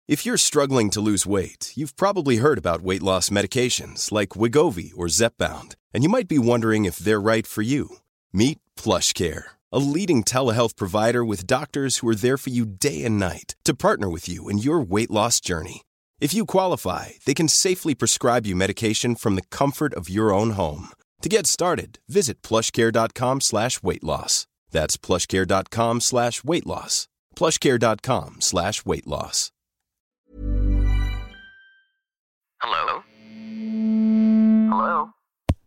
If you're struggling to lose weight, you've probably heard about weight loss medications like Wegovy or Zepbound, and you might be wondering if they're right for you. Meet PlushCare, a leading telehealth provider with doctors who are there for you day and night to partner with you in your weight loss journey. If you qualify, they can safely prescribe you medication from the comfort of your own home. To get started, visit plushcare.com/weightloss. That's plushcare.com/weightloss. plushcare.com/weightloss. Hello? Hello?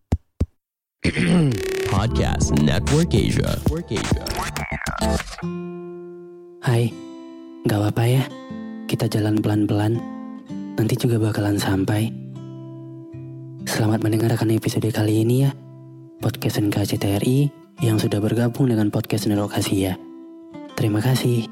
Podcast Network Asia. Hai, gak apa-apa ya, kita jalan pelan-pelan, nanti juga bakalan sampai. Selamat mendengarkan episode kali ini ya, Podcast NKCTRI yang sudah bergabung dengan Podcast Nerokasia. Terima kasih.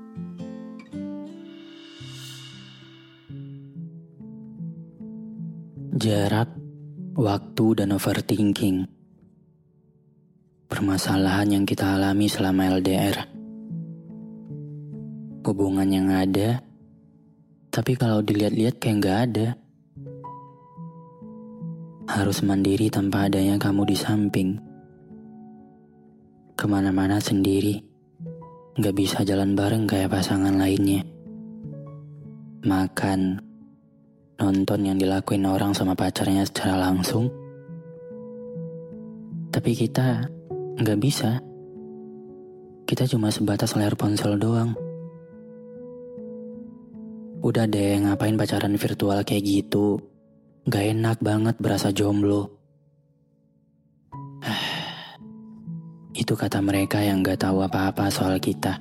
Jarak, waktu, dan overthinking. Permasalahan yang kita alami selama LDR. Hubungan yang ada, tapi kalau dilihat-lihat kayak gak ada. Harus mandiri tanpa adanya kamu di samping. Kemana-mana sendiri, gak bisa jalan bareng kayak pasangan lainnya. Makan, nonton yang dilakuin orang sama pacarnya secara langsung. Tapi kita gak bisa. Kita cuma sebatas layar ponsel doang. Udah deh, ngapain pacaran virtual kayak gitu? Gak enak banget berasa jomblo. Itu kata mereka yang gak tahu apa-apa soal kita.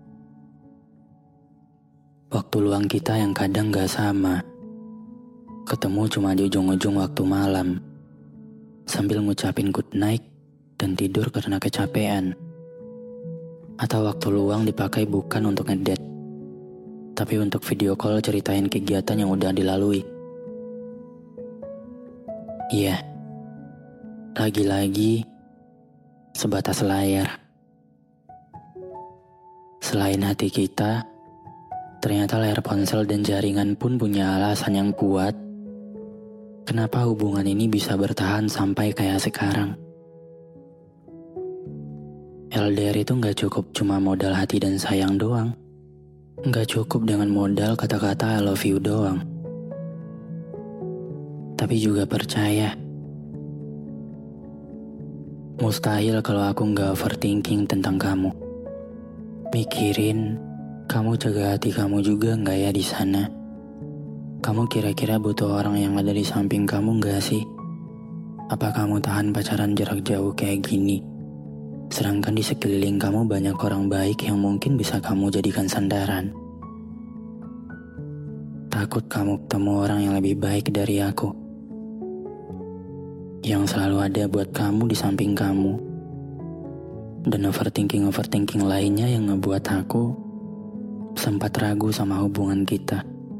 Waktu luang kita yang kadang gak sama. Ketemu cuma di ujung-ujung waktu malam, sambil ngucapin good night dan tidur karena kecapean. Atau waktu luang dipakai bukan untuk ngedate, tapi untuk video call ceritain kegiatan yang udah dilalui. Iya, lagi-lagi sebatas layar. Selain hati kita, ternyata layar ponsel dan jaringan pun punya alasan yang kuat kenapa hubungan ini bisa bertahan sampai kayak sekarang. LDR itu gak cukup cuma modal hati dan sayang doang. Gak cukup dengan modal kata-kata I love you doang. Tapi juga percaya, mustahil kalau aku gak overthinking tentang kamu. Mikirin, kamu jaga hati kamu juga gak ya di sana? Kamu kira-kira butuh orang yang ada di samping kamu gak sih? Apa kamu tahan pacaran jarak jauh kayak gini? Sedangkan di sekeliling kamu banyak orang baik yang mungkin bisa kamu jadikan sandaran. Takut kamu ketemu orang yang lebih baik dari aku, yang selalu ada buat kamu di samping kamu. Dan overthinking lainnya yang ngebuat aku sempat ragu sama hubungan kita.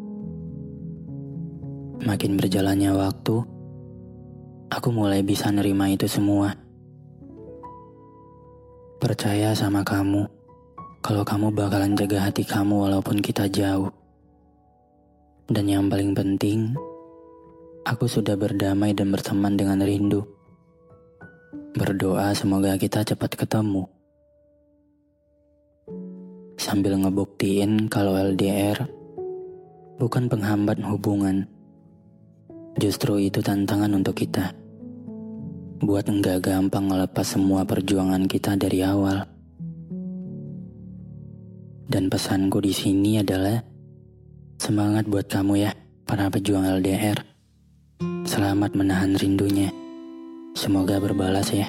Makin berjalannya waktu, aku mulai bisa nerima itu semua. Percaya sama kamu, kalau kamu bakalan jaga hati kamu walaupun kita jauh. Dan yang paling penting, aku sudah berdamai dan berteman dengan rindu. Berdoa semoga kita cepat ketemu. Sambil ngebuktiin kalau LDR bukan penghambat hubungan. Justru itu tantangan untuk kita. Buat enggak gampang ngelepas semua perjuangan kita dari awal. Dan pesanku di sini adalah semangat buat kamu ya, para pejuang LDR. Selamat menahan rindunya. Semoga berbalas ya.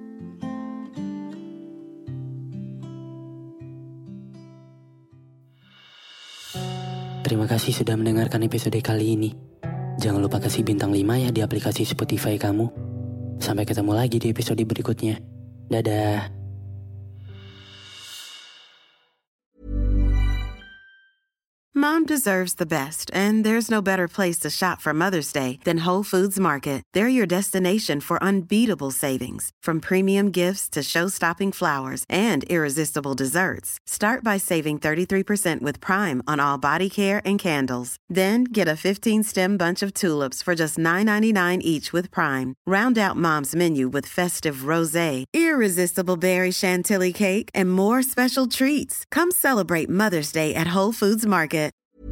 Terima kasih sudah mendengarkan episode kali ini. Jangan lupa kasih bintang 5 ya di aplikasi Spotify kamu. Sampai ketemu lagi di episode berikutnya. Dadah. Mom Mom deserves the best, and there's no better place to shop for Mother's Day than Whole Foods Market. They're your destination for unbeatable savings, from premium gifts to show-stopping flowers and irresistible desserts. Start by saving 33% with Prime on all body care and candles. Then get a 15-stem bunch of tulips for just $9.99 each with Prime. Round out Mom's menu with festive rosé, irresistible berry chantilly cake, and more special treats. Come celebrate Mother's Day at Whole Foods Market.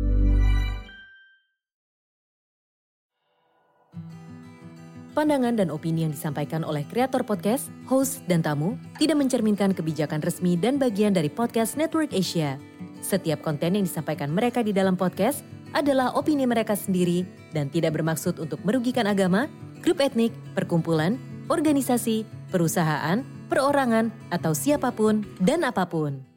Pandangan dan opini yang disampaikan oleh kreator podcast, host, dan tamu tidak mencerminkan kebijakan resmi dan bagian dari podcast Network Asia. Setiap konten yang disampaikan mereka di dalam podcast adalah opini mereka sendiri dan tidak bermaksud untuk merugikan agama, grup etnik, perkumpulan, organisasi, perusahaan, perorangan, atau siapapun dan apapun.